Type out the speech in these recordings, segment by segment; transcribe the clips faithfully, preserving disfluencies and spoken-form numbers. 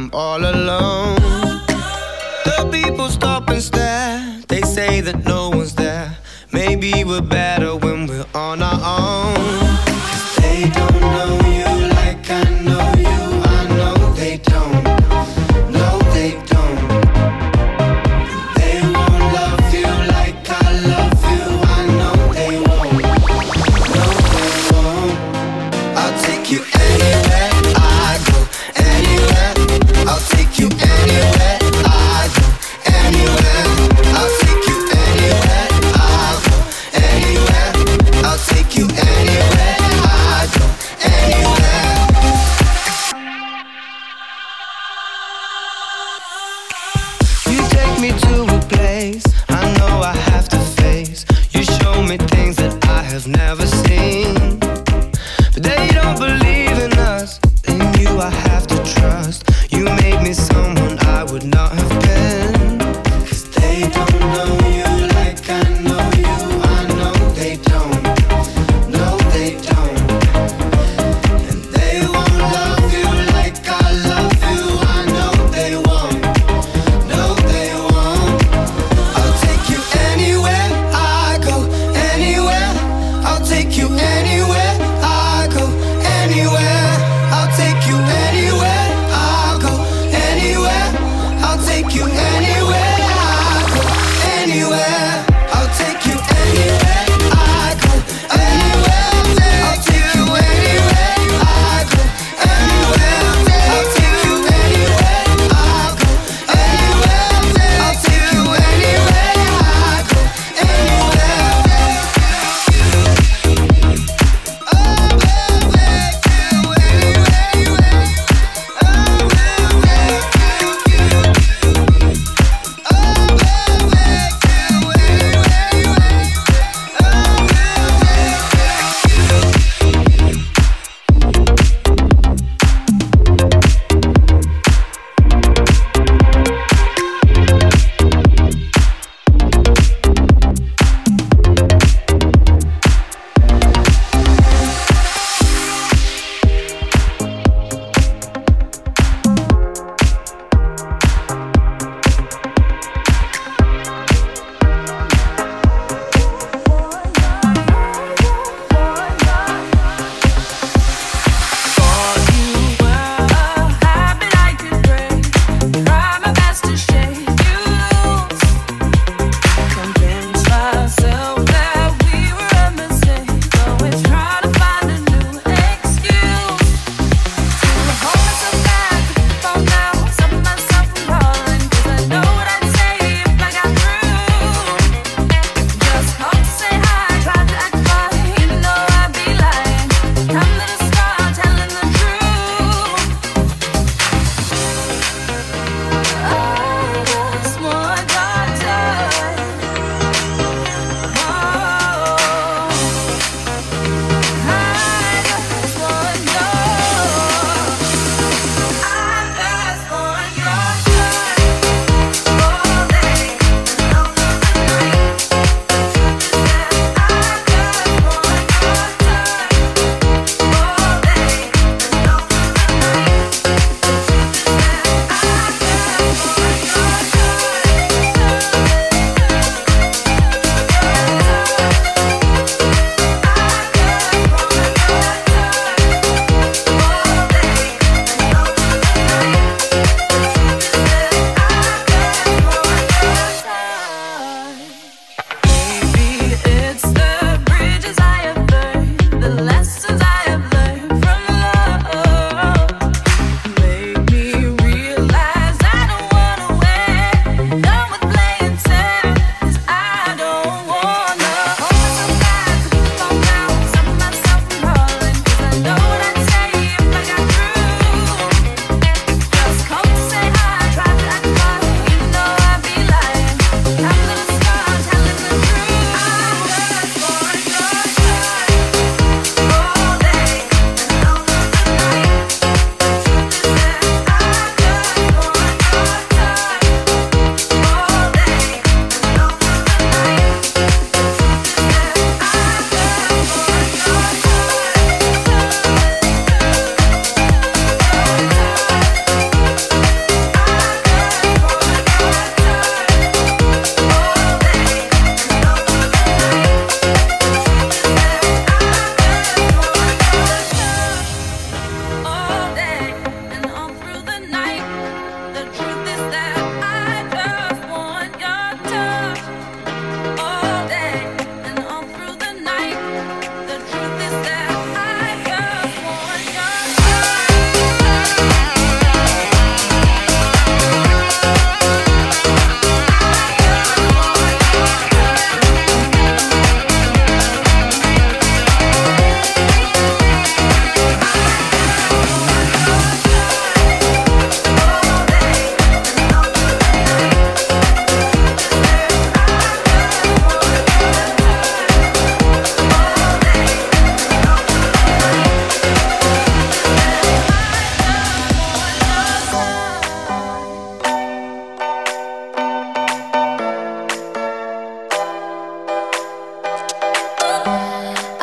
I'm all alone. The people stop and stare. They say that no one's there. Maybe we're better when we're on our own. 'Cause they don't know you like I know you. I know they don't. No, they don't. They won't love you like I love you. I know they won't. No, they won't. I'll take you anywhere I go. Anywhere. I'll take you anywhere I go. Anywhere. I'll take you anywhere I go. Anywhere. I'll take you anywhere.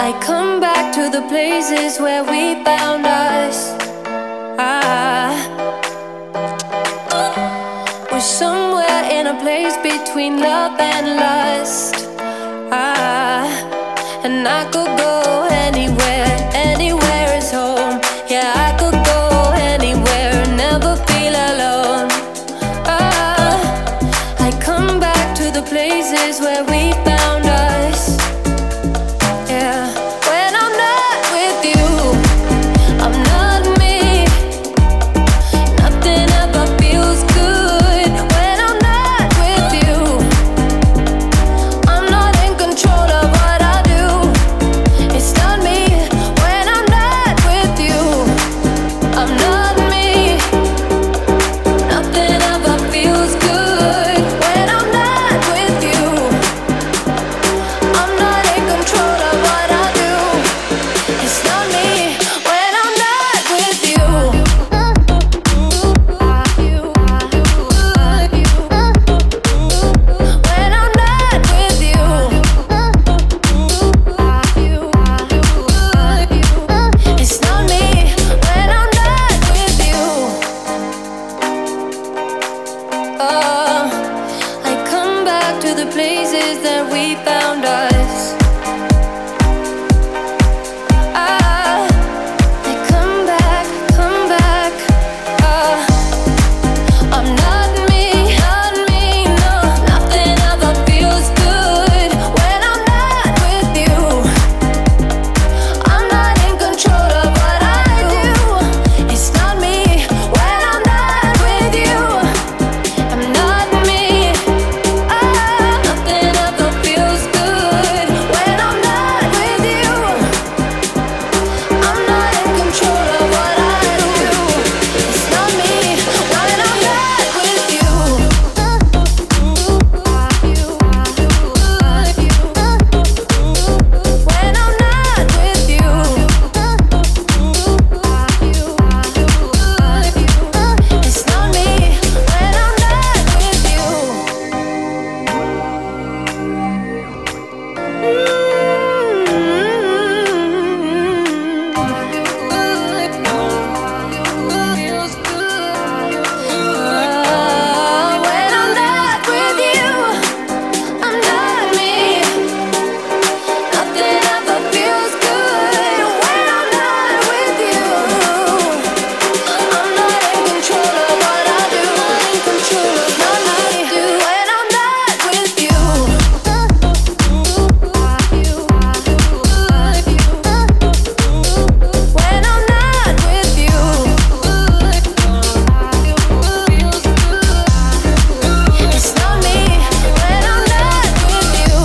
I come back to the places where we found us. Ah, we're somewhere in a place between love and lust. Ah, and I could go anywhere, anywhere is home. Yeah, I could go anywhere, never feel alone. Ah, I come back to the places where we found us. Yeah, when I'm not with you, I'm not me. Nothing ever feels good. When I'm not with you, I'm not in control of what I do. It's not me. When I'm not with you, I'm not me. Nothing ever feels good. When I'm not with you, I'm not in control of what I do. It's not me. When I'm not with you, when I'm not with you, it's not me. When I'm not with you, oh, I come back to the places that we found us. Ah, I come back, come back. Ah, I'm not me, not me, no. Nothing ever feels good when I'm not with you. I'm not in control of what I do. It's not me. When I'm not with you, I'm not me. Ah, nothing ever feels good when I'm not with you. I'm not in control of what I do. It's not me. When I'm not with you, when I'm not with you, it's not me. When I'm not with when I'm not with you, I'm not me. Nothing ever feels good when I'm not with you. I'm not in control of what I do. I'm in control of what I do when I'm not with you. When I'm not with you, it's not me. When I'm not with you,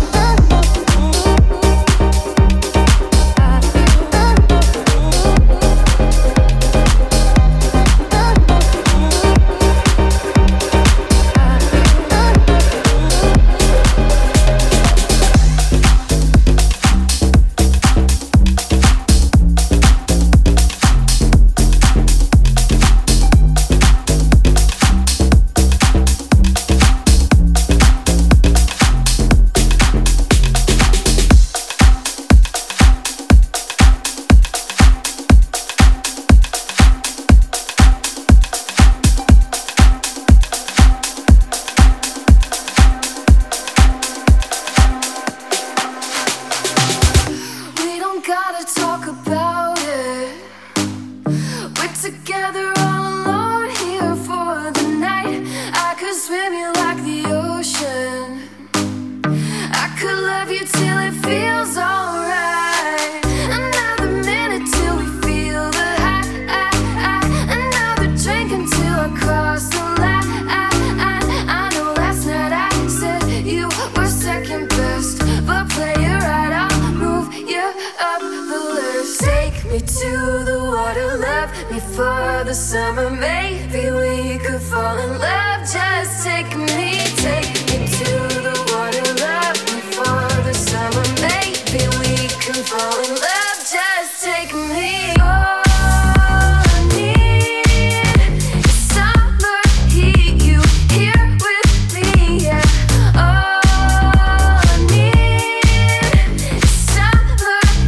we don't gotta talk about it. We're together all alone here for the night. I could swim you like the ocean. I could love you till it feels alright. Another minute till we feel the high. Another drink until I cross the line. I know last night I said you were second best, but play it right, I'll move you up the list. Take me to the water, love me for the summer. Maybe we could fall in love. Just take me, take me to the water, love me for the summer. Maybe we can fall in love. Just take me. All I need is summer heat. You here with me, yeah. All I need is summer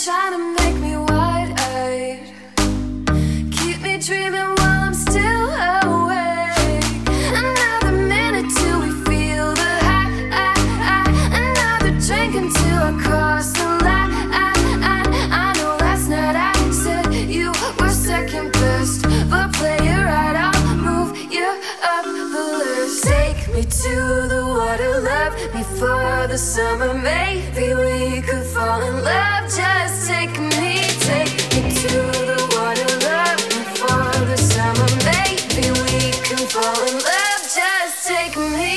trying to make me wide-eyed. Keep me dreaming while I'm still awake. Another minute till we feel the high. Another drink until I cross the line. I know last night I said you were second best, but play it right, I'll move you up the list. Take me to the water, love me for the summer. Maybe we could fall in love. Just take me, take me to the water, love me for the summer. Maybe we can fall in love. Just take me.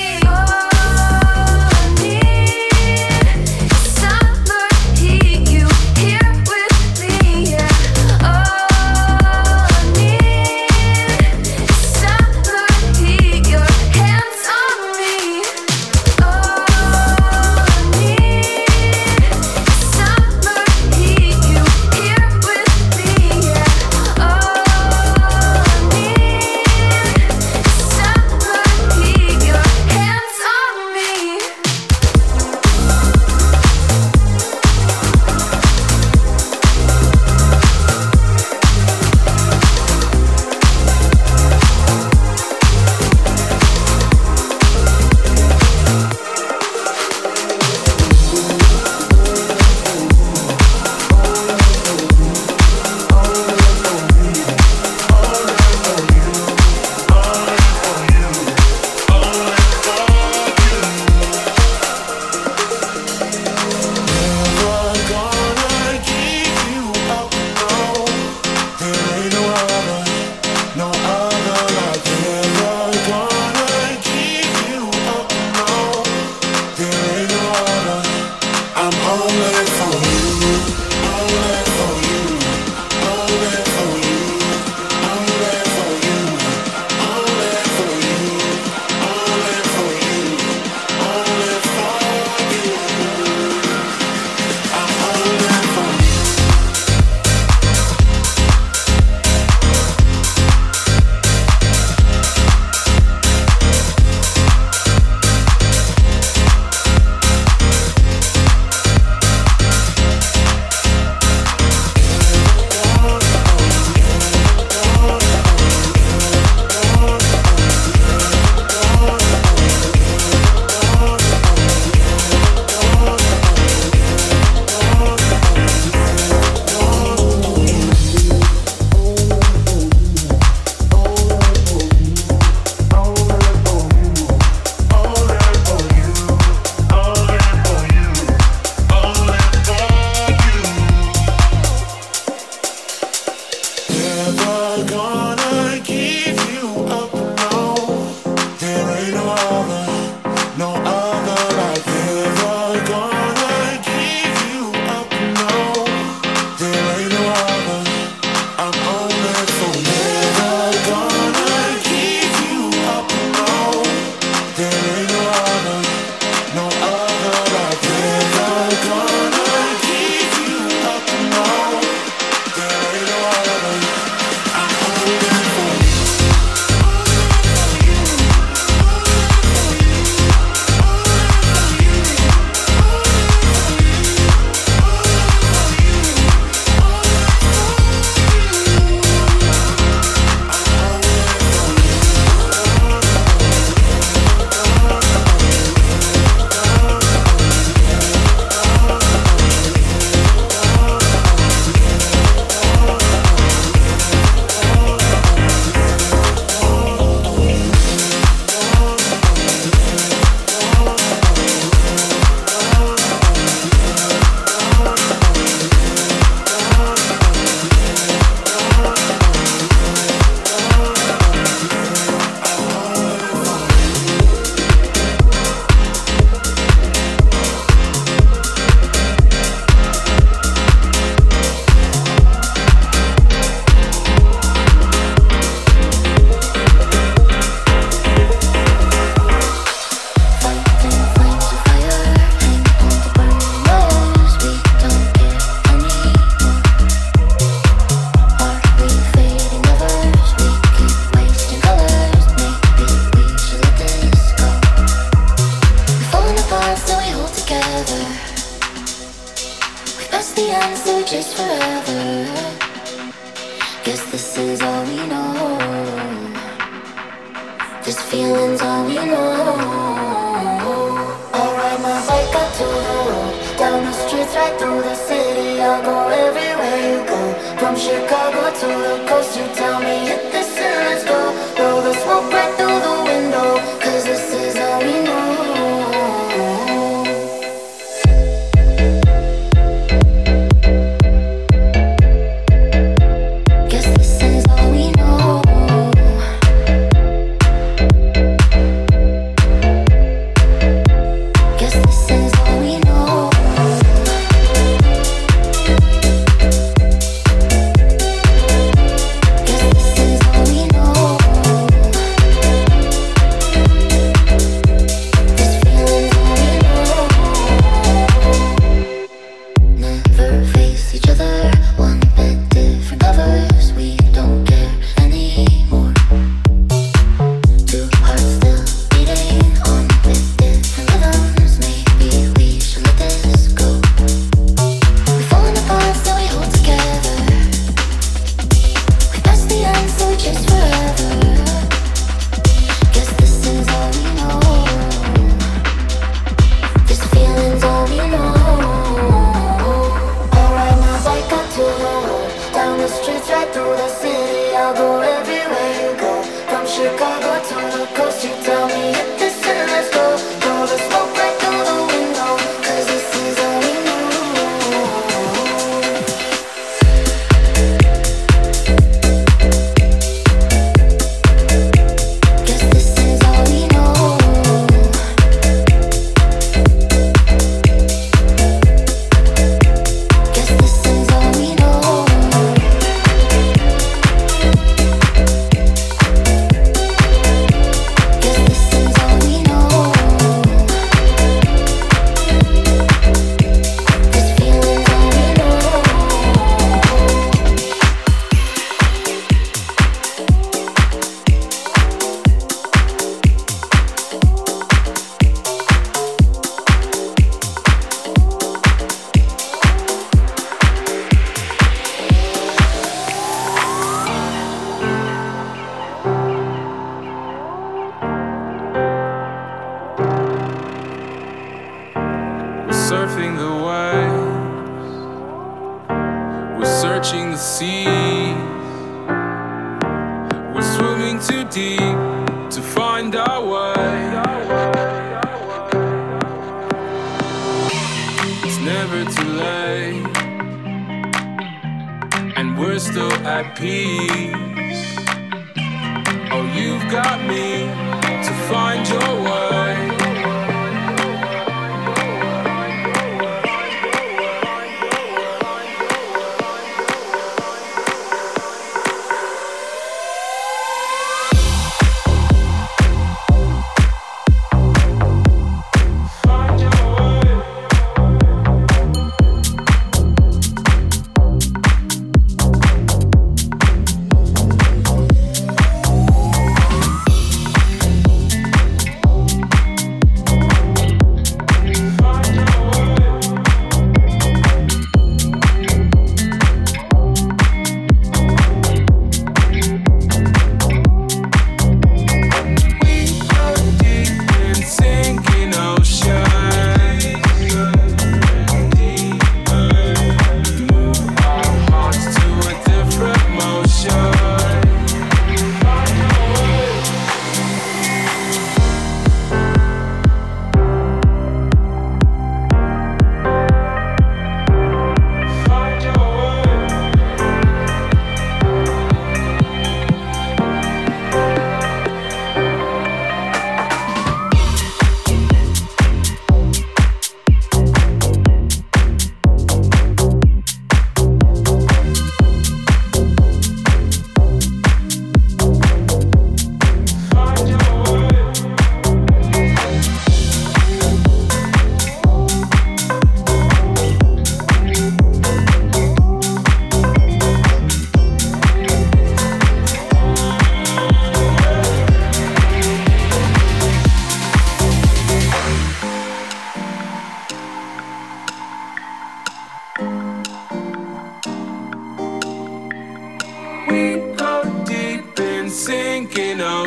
the answer, just forever. Guess this is all we know. This feeling's all we know. I'll ride my bike out to the road, down the streets, right through the city. I'll go everywhere you go, from Chicago to the coast. You tell me hit this and let's go. Blow the smoke right through the window, cause this is all we know.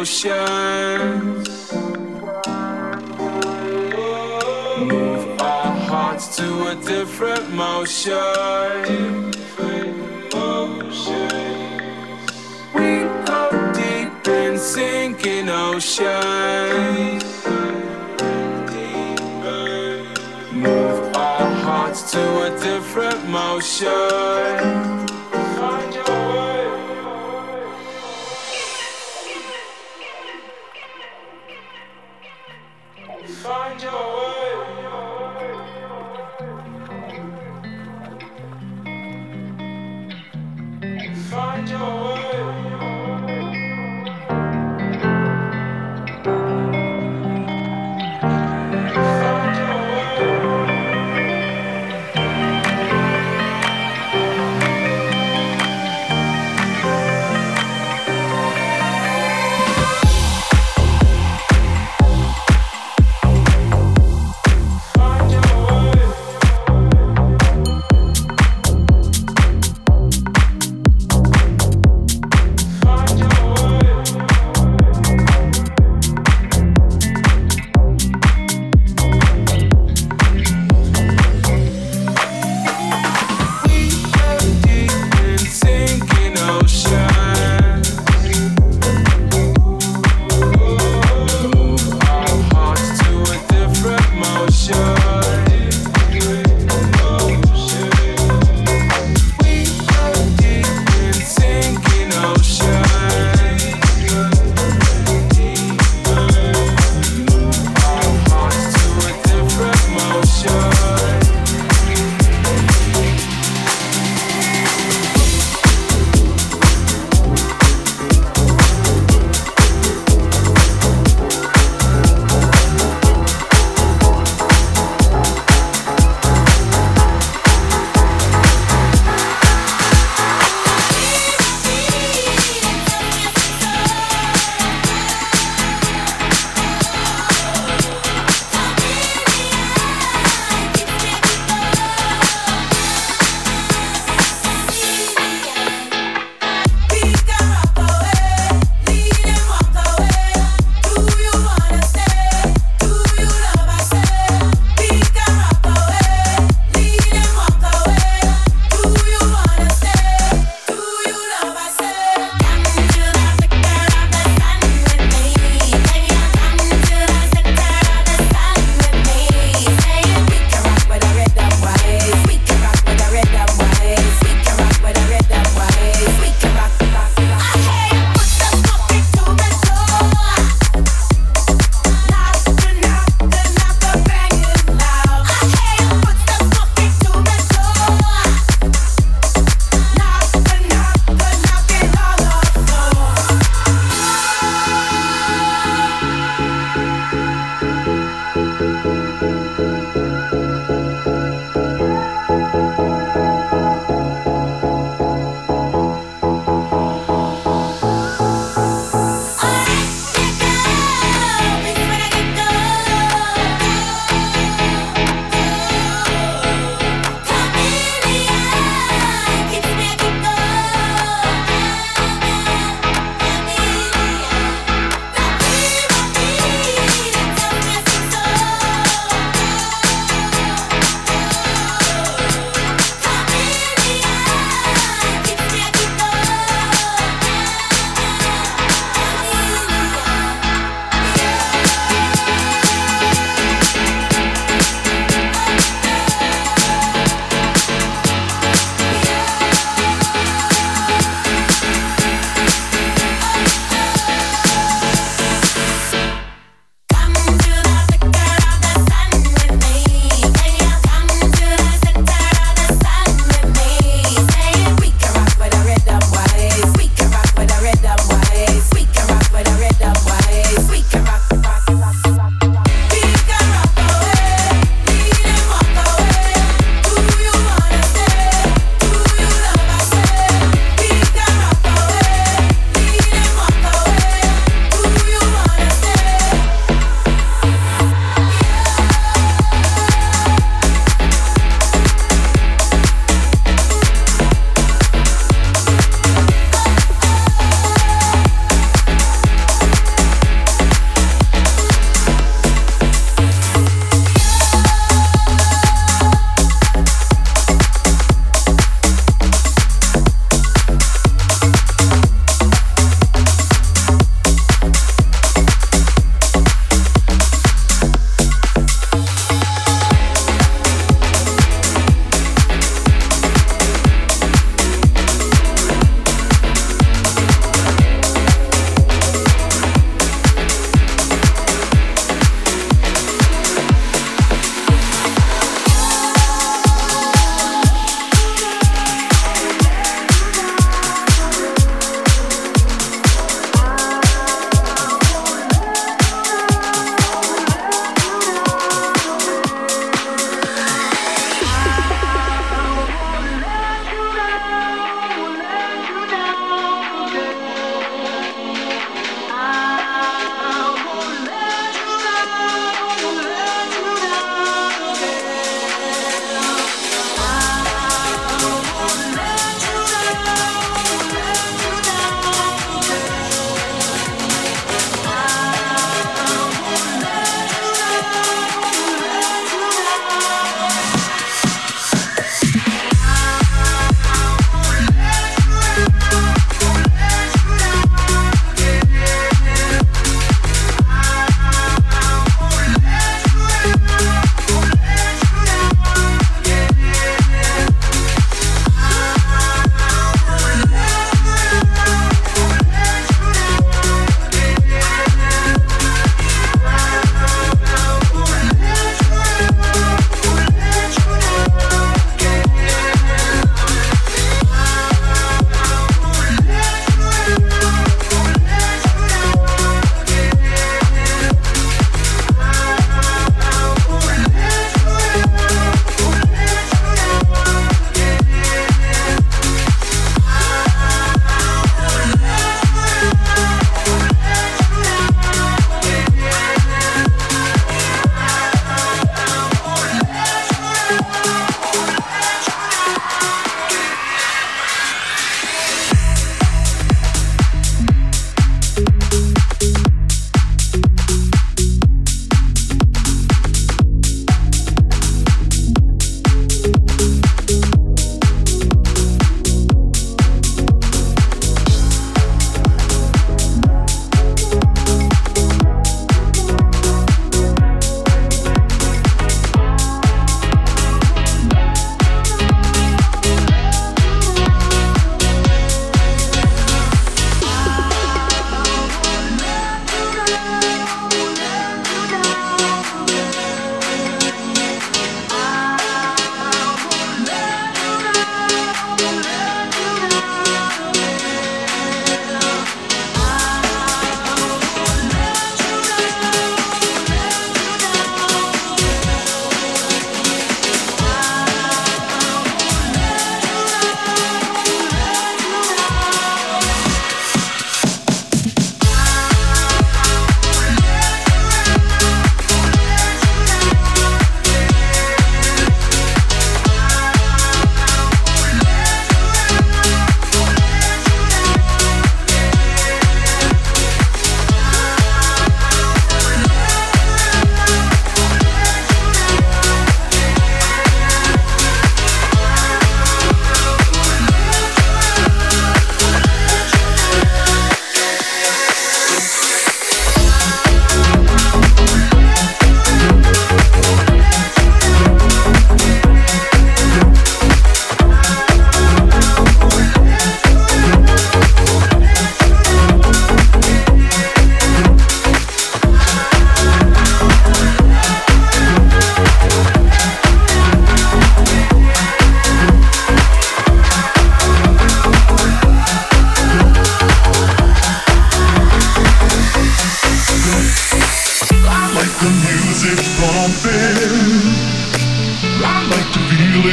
oceans. Move our hearts to a different motion. We go deep in sinking oceans. Move our hearts to a different motion. Find your way. Find your way. Find your way.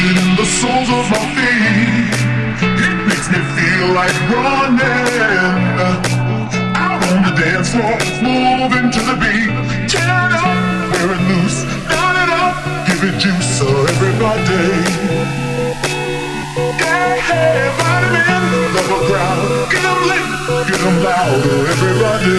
beat in the soles of my feet. It makes me feel like running out on the dance floor, moving to the beat. Tear it up, wear it loose, down it up, give it juice, so everybody. Yeah, hey, vitamin, love a crowd, get them lit, get them louder, everybody.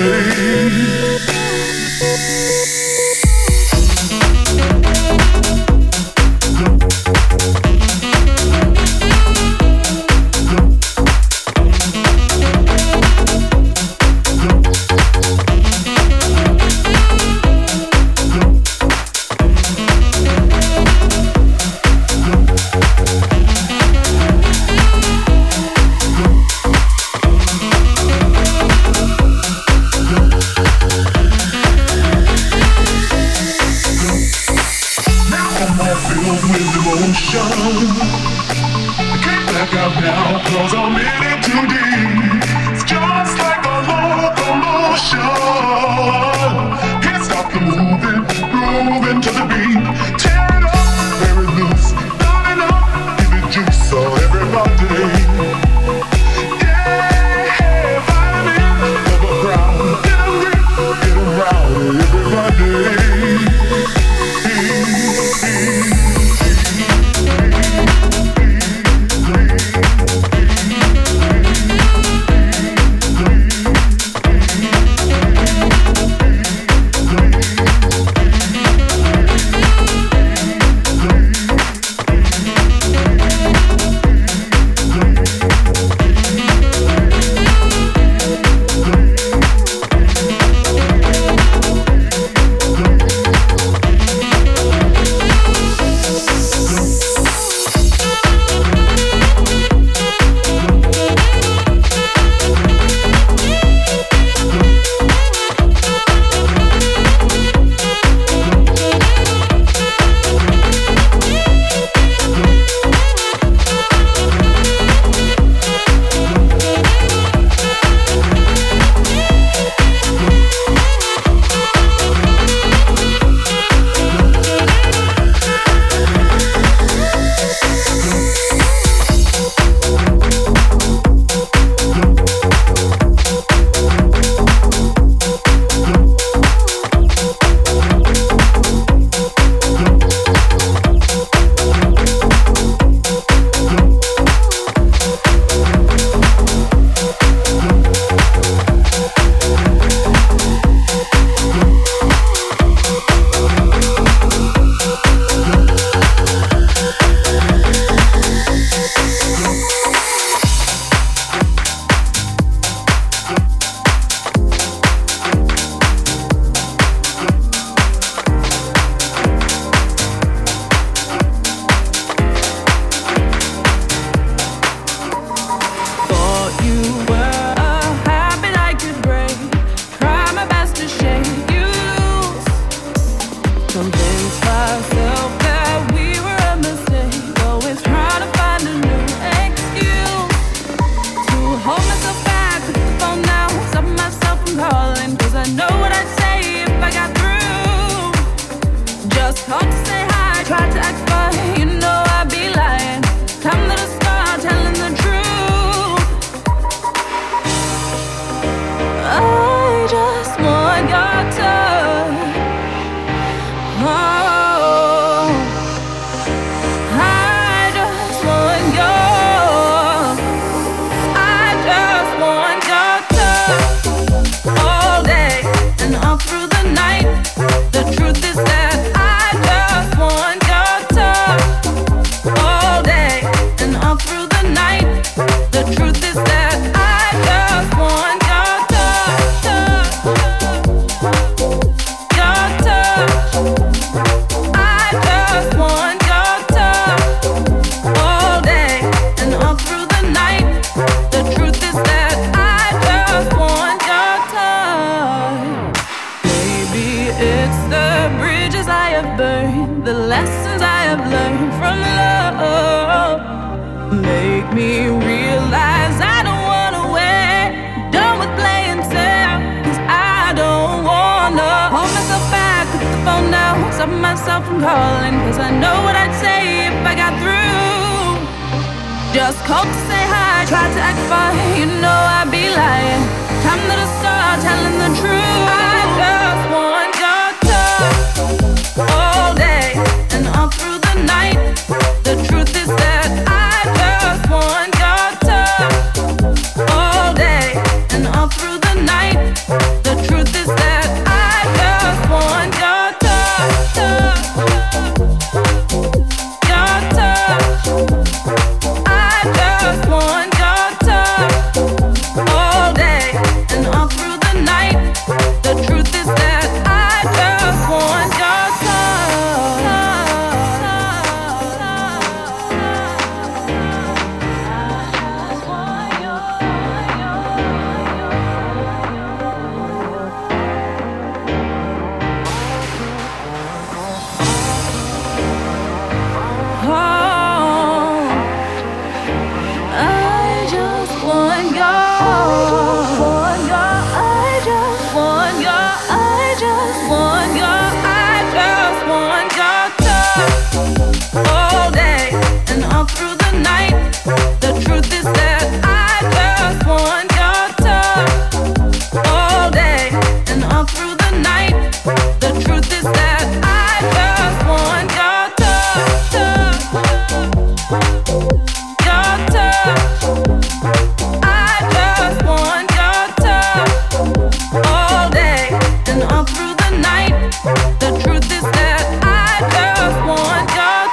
me realize I don't wanna wait. Done with playing fair, cause I don't wanna hold myself back, put the phone down, stop myself from calling, cause I know what I'd say if I got through. Just called to say hi, tried to act fine, you know I'd be lying. Time that I start telling the truth. I just want your touch all day and all through the night. The truth is that I just want your touch all day and all through the night. The truth is that I just want your touch, your touch. I just want your touch all day and all through the night. The truth is that I just want your touch. Oh, I just want your, I just want your, I just want your, I just want your touch all day and all through the night. The truth is that I just want your touch all day and all through the night. The truth is that I just want your touch, your touch. I just want your touch all day and all through the night. The truth is that I just want your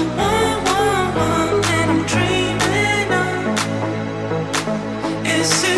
Is it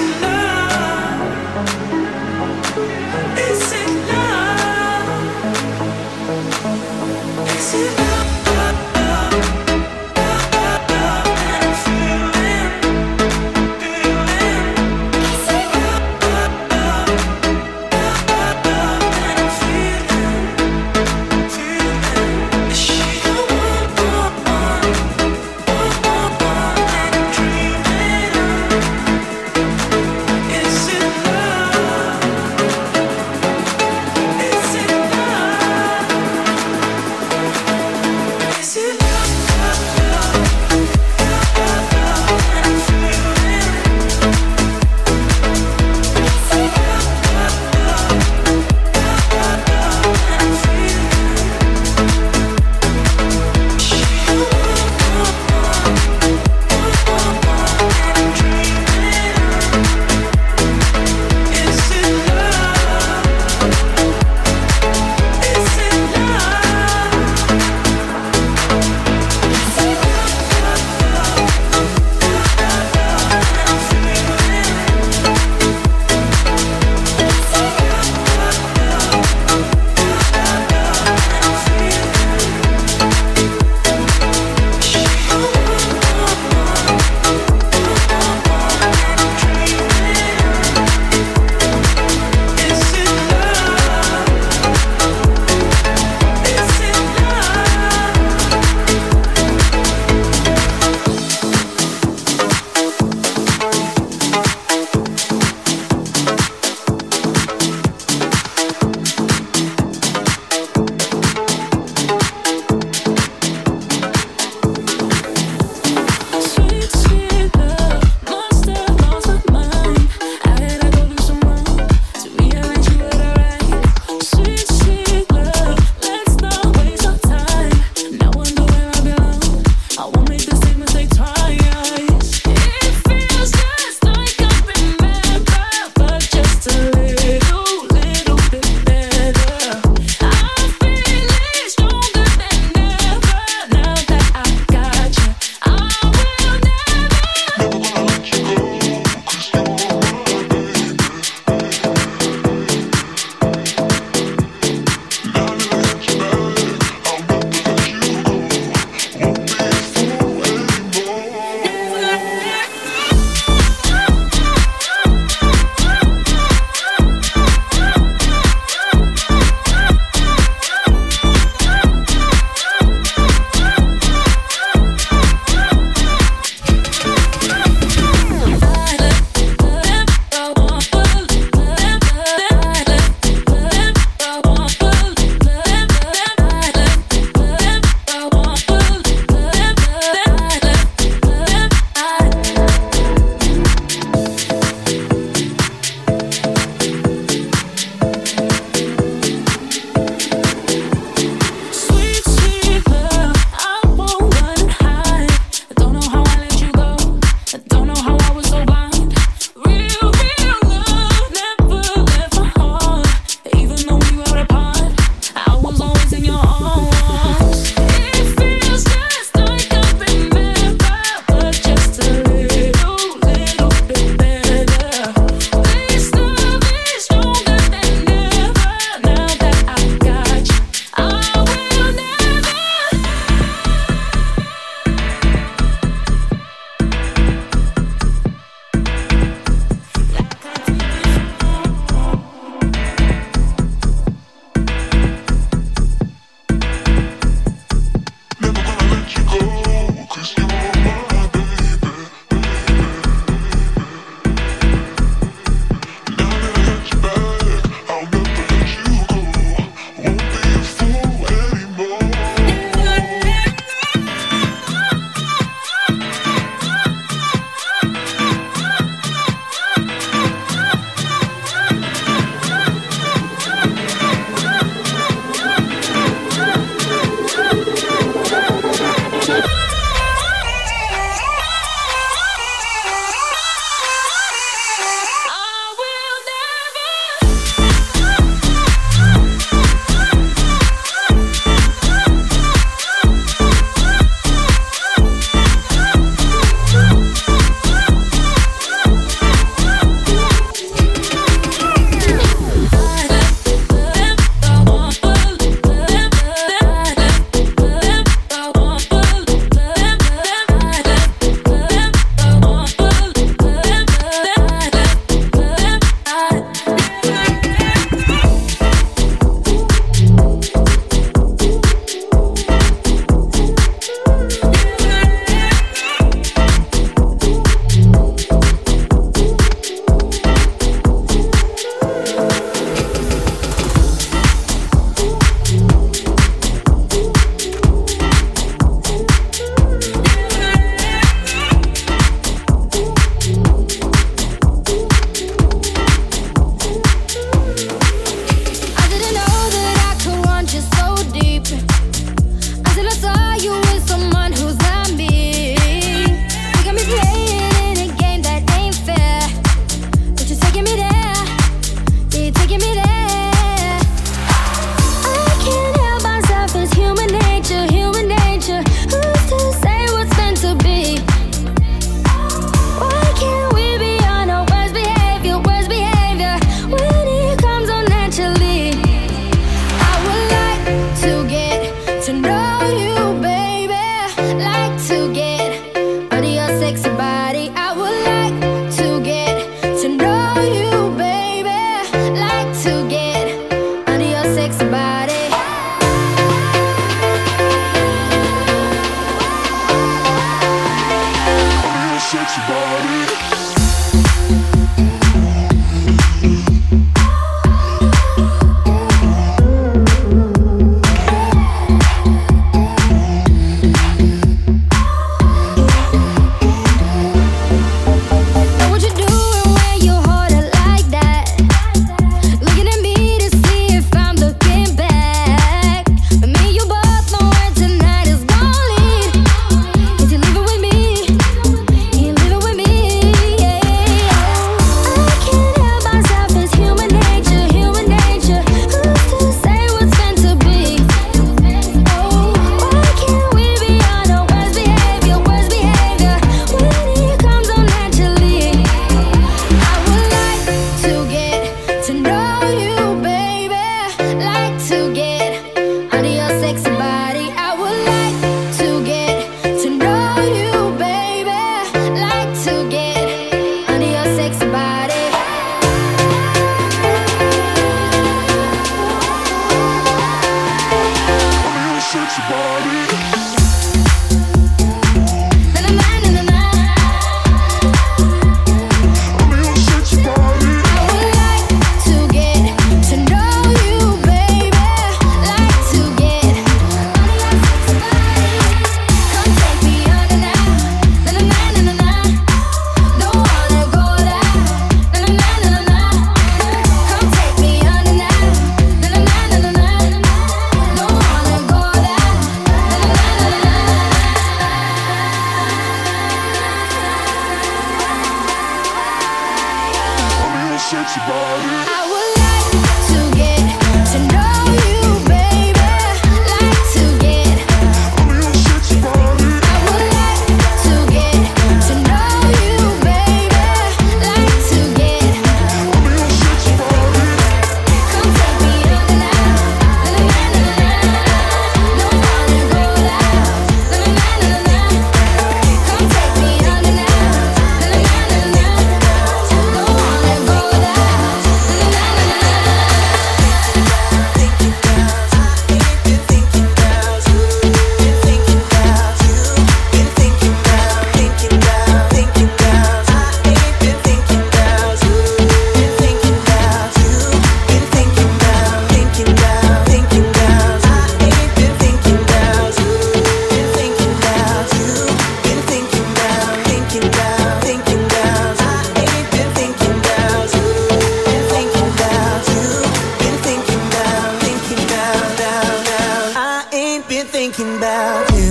sexy body. I would like to get to know you, baby. Like to get Oh, your sexy body. I would like to get to know you, baby. Like to get Oh, your sexy body. Come take me under now. Na na na na na. Don't wanna go loud. Na na na na na. Come take me under now. Na na na na na. Don't wanna go loud. Na na na na na. Thinking about you, been thinking about you, been thinking about you, been thinking about, thinking about, thinking about. I ain't been thinking about you, been thinking about you, been thinking about, thinking about, thinking about. I ain't been thinking about you, been thinking about you, been thinking about, thinking about, thinking about. I ain't been thinking about you, been thinking about you, been thinking about, thinking about, now, now. I ain't been thinking about you.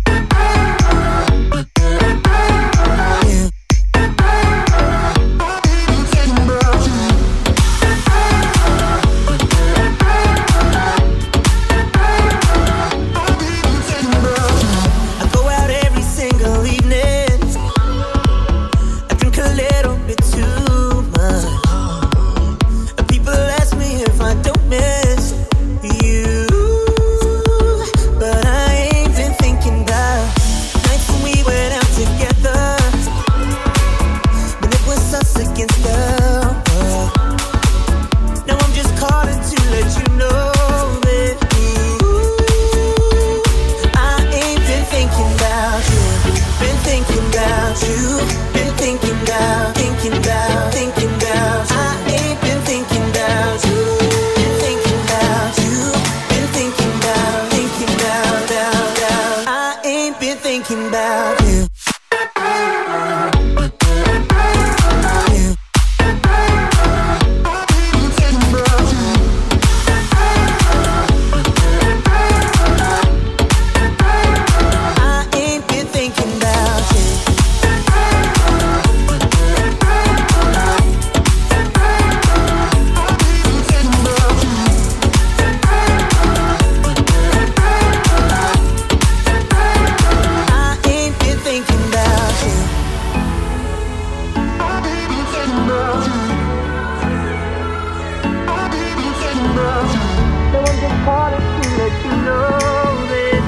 I go out every single evening. I drink a little bit too much. People ask me if I don't miss you, but I ain't been thinking about nights when we went out together, when it was us against the world. Now I'm just calling to let you know that ooh, I ain't been thinking about you, been thinking about you, been thinking about, thinking about, thinking about. I ain't been thinking about you, been thinking about you, been thinking about, thinking about, about, about. I ain't been thinking about you. I ain't been thinking about you. I ain't been thinking about you. No one just calling to let you know that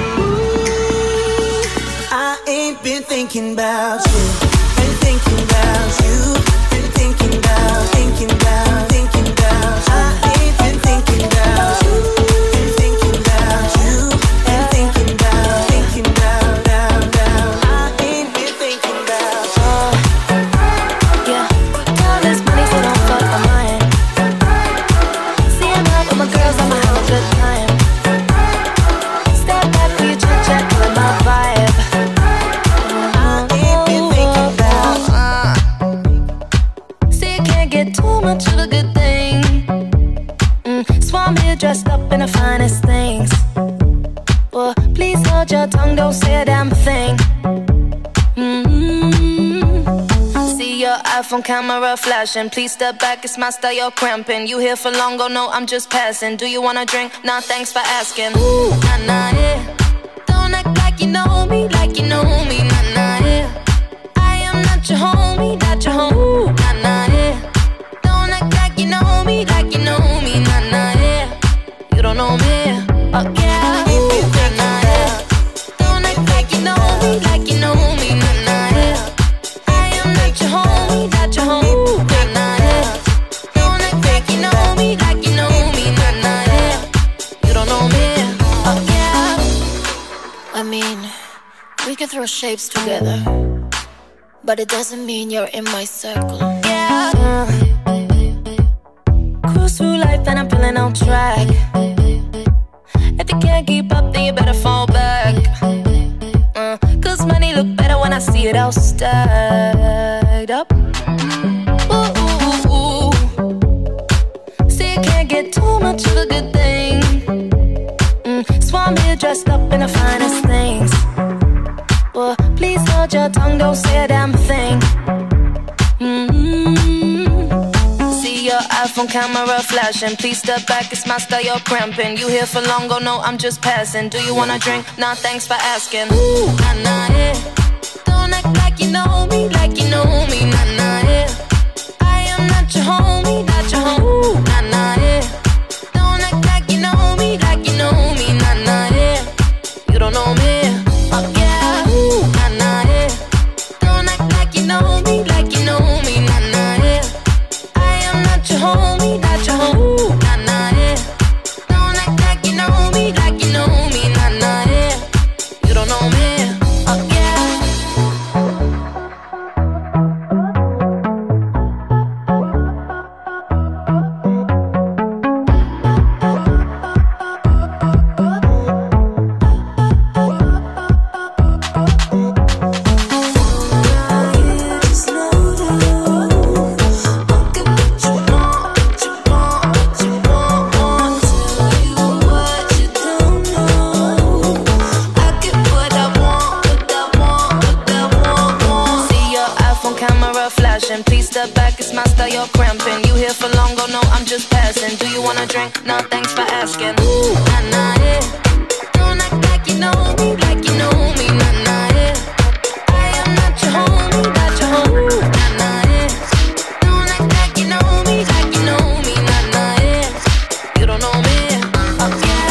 ooh, I ain't been thinking about you. Been thinking about you. Been thinking about, thinking about, thinking about. I ain't been thinking about you. Been thinking about you. Been thinking about, thinking about, now, now. I ain't been thinking about you. Yeah, all this money, so don't fuck my mind. See, I'm out with my girls, I'ma have a good time. Step back for your chit chat, feeling my vibe. I ain't been thinking about you. See, you can't get too much of a good thing. Mm, so I'm here dressed up in the finest things. Well, please hold your tongue, don't say a damn thing. Mm-hmm. See your iPhone camera flashing. Please step back, it's my style, you're cramping. You here for long, go no, I'm just passing. Do you wanna drink? Nah, thanks for asking. Ooh, nah, nah, yeah. Don't act like you know me, like you know me, nah, nah, yeah. I am not your homie, not your homie, Ooh, nah, nah, yeah. Don't act like you know me, like you know me, nah, nah, yeah. You don't know me, oh yeah, Ooh, nah, nah, yeah. Don't act like you know me, like you know me, nah, nah, yeah. I am not your homie, not your homie, Ooh, nah, nah, yeah. Don't act like you know me, like you know me, nah, nah, yeah. You don't know me, oh yeah. I mean, we can throw shapes together, but it doesn't mean you're in my circle. Yeah. Uh, cruise through life and I'm feeling on track. If you can't keep up, then you better fall back. Uh, Cause money look better when I see it all stacked up. Ooh, ooh, ooh, ooh. See, you can't get too much of a good thing. Mm, so I'm here dressed up in the finest things. Well, please hold your tongue, don't say a damn thing. Mm-hmm. iPhone camera flashing. Please step back, it's my style, you're cramping. You here for long, go no, I'm just passing. Do you wanna drink? Nah, thanks for asking. Ooh, nah, nah, yeah. Don't act like you know me, like you know me, nah, nah, yeah. I am not your homie, not your homie, ooh, nah, nah, yeah. Don't act like you know me, like you know me, nah, nah, yeah. You don't know me, oh yeah, ooh, nah, nah, yeah. Don't act like you know me, like you know me, nah, nah, yeah. I am not your homie, not your homie, ooh, nah, nah, yeah. Don't act like you know me, like you know me, nah, nah, yeah. You don't know me, oh yeah. Please step back, it's my style, you're cramping. You here for long, go no, I'm just passing. Do you wanna drink? Nah, thanks for asking. Ooh, nah, nah, yeah. Don't act like you know me, like you know me, nah, nah, yeah. I am not your homie, not your homie, ooh, nah, nah, yeah. Don't act like you know me, like you know me, nah, nah, yeah. You don't know me, oh yeah.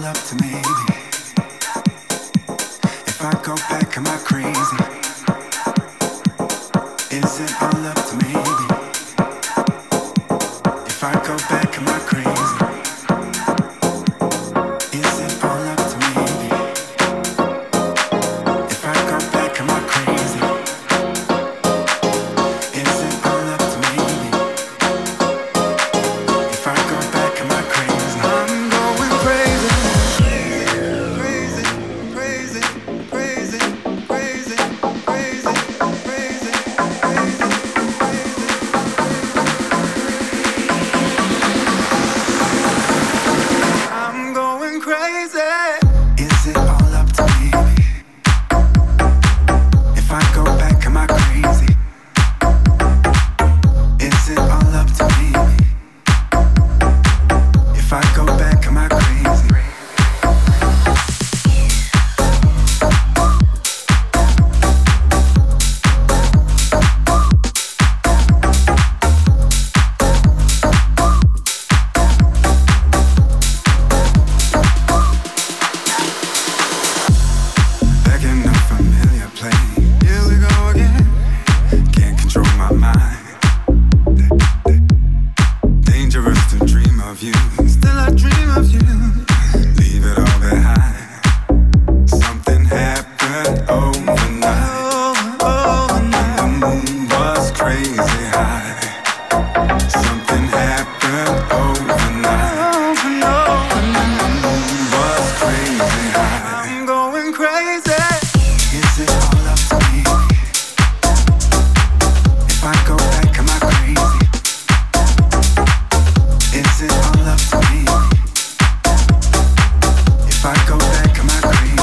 up to me? If I go back, am I crazy? Is it all up to me? If I go back, am I crazy? Is it all up to me? If I go back, am I crazy? Is it all up to me? If I go back, am I crazy? I'm going crazy. Crazy, crazy, crazy, crazy, crazy, crazy, crazy. I'm going crazy. Is it all up to me? If I go back, am I crazy? Is it all up to me? If I go back, am I crazy? Back in a familiar place. Here we go again. Can't control my mind. Dangerous to dream of you. Still I dream of you. Leave it all behind. Something happened overnight. The moon was crazy high. Something happened overnight. The moon was crazy high. I'm going crazy. Is it all up to me? If I go back, am I crazy? Is it all up to me? If I go back, am I crazy?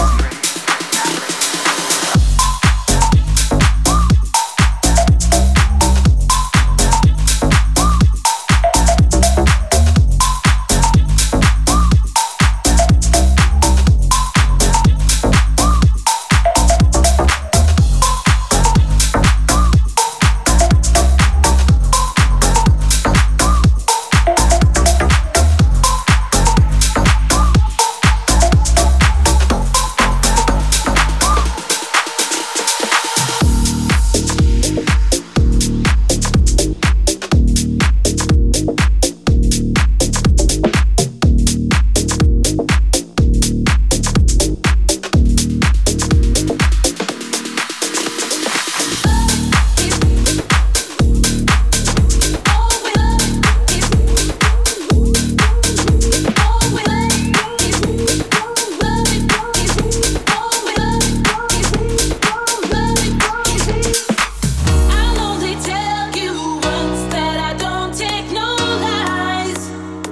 I'll only tell you once that I don't take no lies.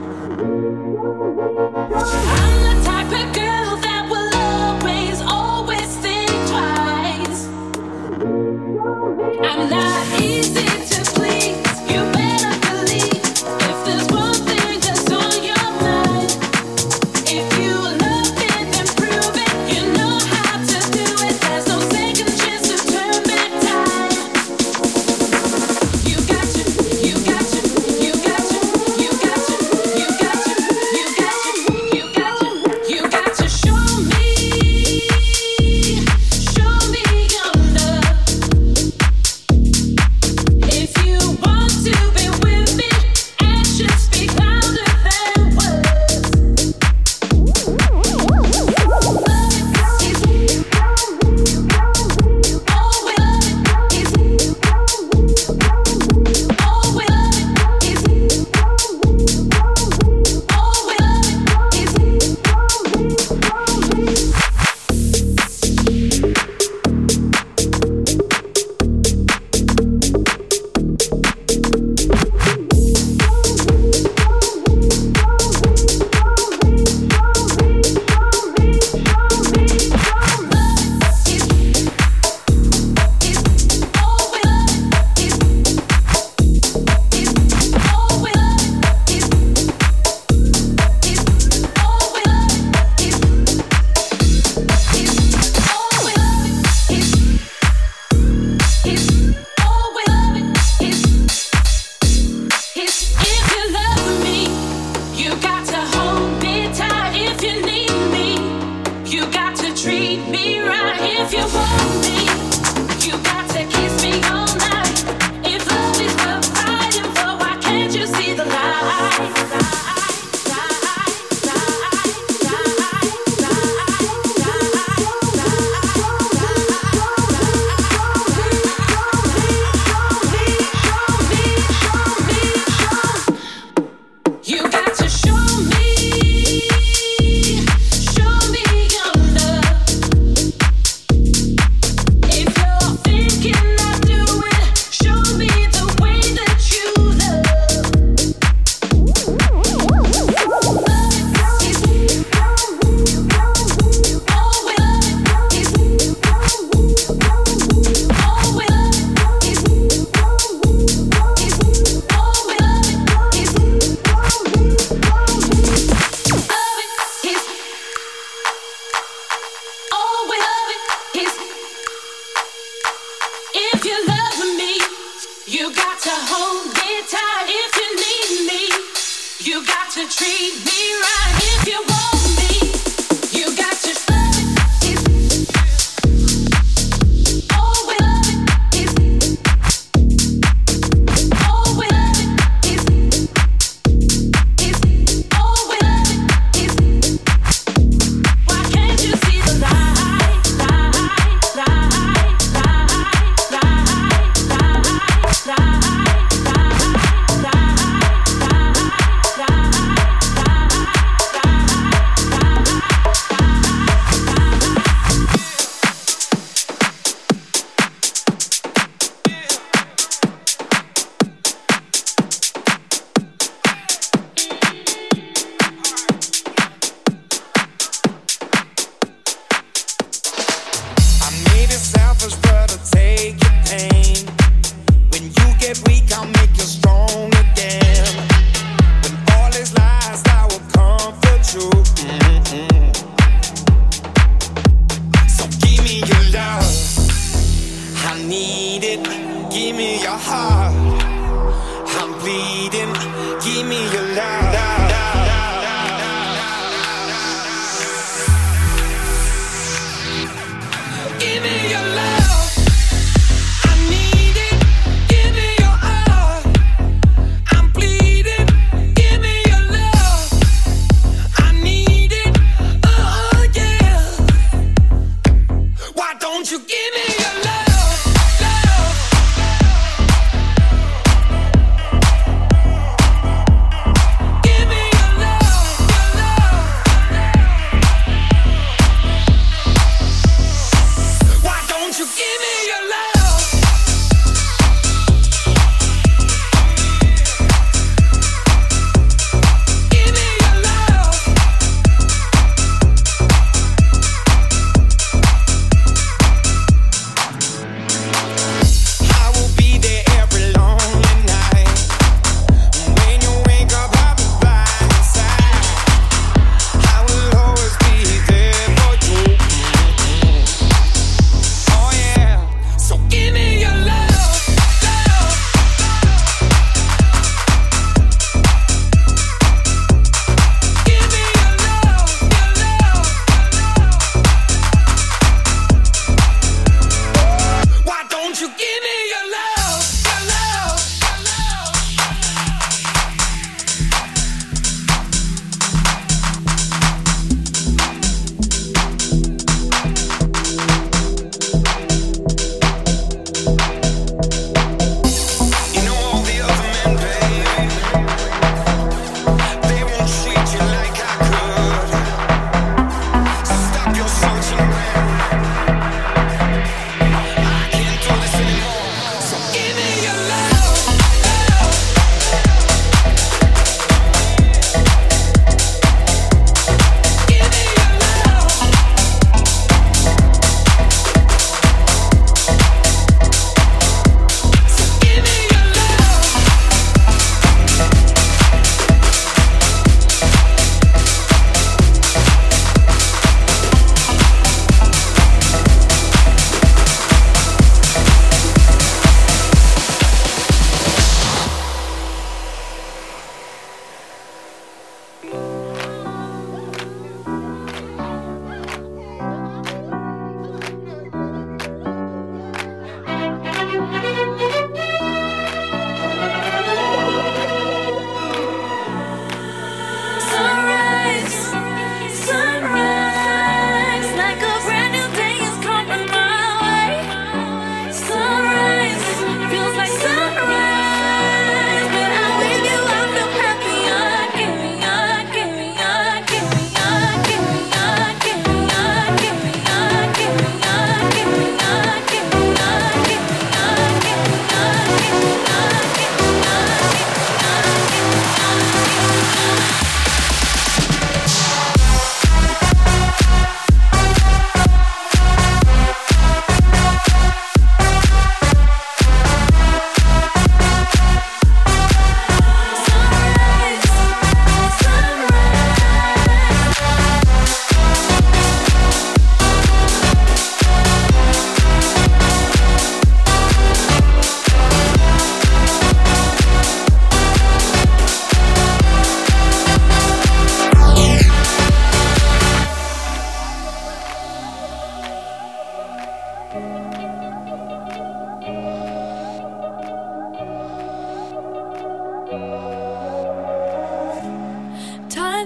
I'm the type of girl that will always, always think twice. I'm not easy to please. You better believe if there's one thing that's on your mind. If you love it, then prove it. You know how to do it. There's no second chance to turn back time. You got to, you got to, you got to, you got to, you got to, you got to, you got to, you got to show me, show me your love. You got to hold me tight if you need me. You got to treat me right if you want me. You got to love it. Oh, we love it. Oh, we love it. Oh, we love it. Why can't you see the light, light, light, light, light, light, light? Give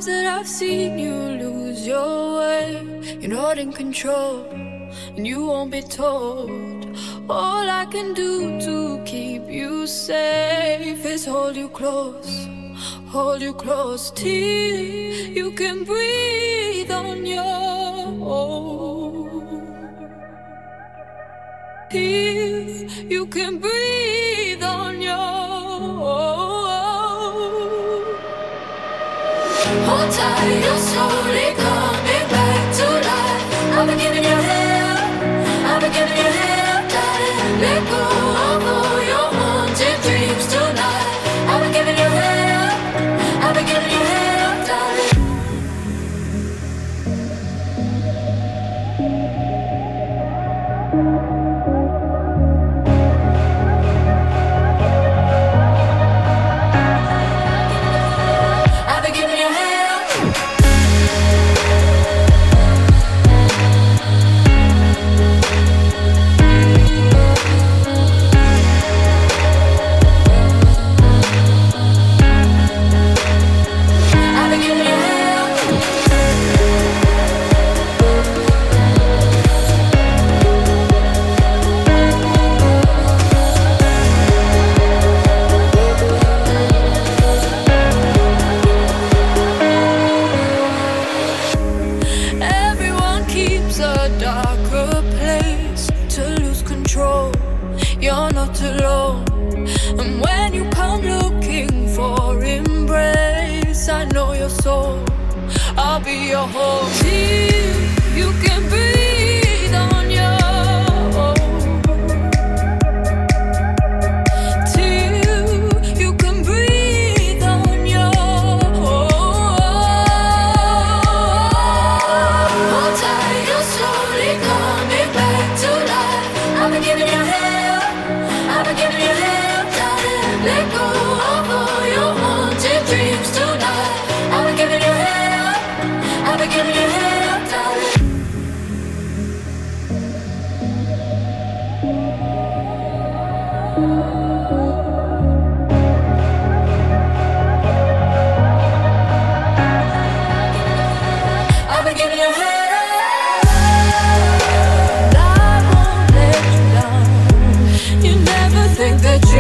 times that I've seen you lose your way. You're not in control, and you won't be told. All I can do to keep you safe is hold you close, hold you close till you can breathe on your own. If you can breathe on your own. Hold tight, you're slowly coming back to life. I've been giving you hell, I've been giving you hell, darling. Let go of all your haunted dreams tonight. I've been giving you hell, I've been giving you hell, darling. I've been giving you hell. I've been giving you hell. Everyone keeps a darker place to lose control. You're not alone. And when you come looking for embrace, I know your soul. I'll be your home till you can breathe on your own. Till you can breathe on your own. Hold tight, you're slowly coming back to life. I've been giving you hell, I've been giving you hell, darling. Let go of all your haunted dreams tonight. I've been giving you hell, I've been giving you hell, darling. I've been giving you hell. I won't let you down. You never think that you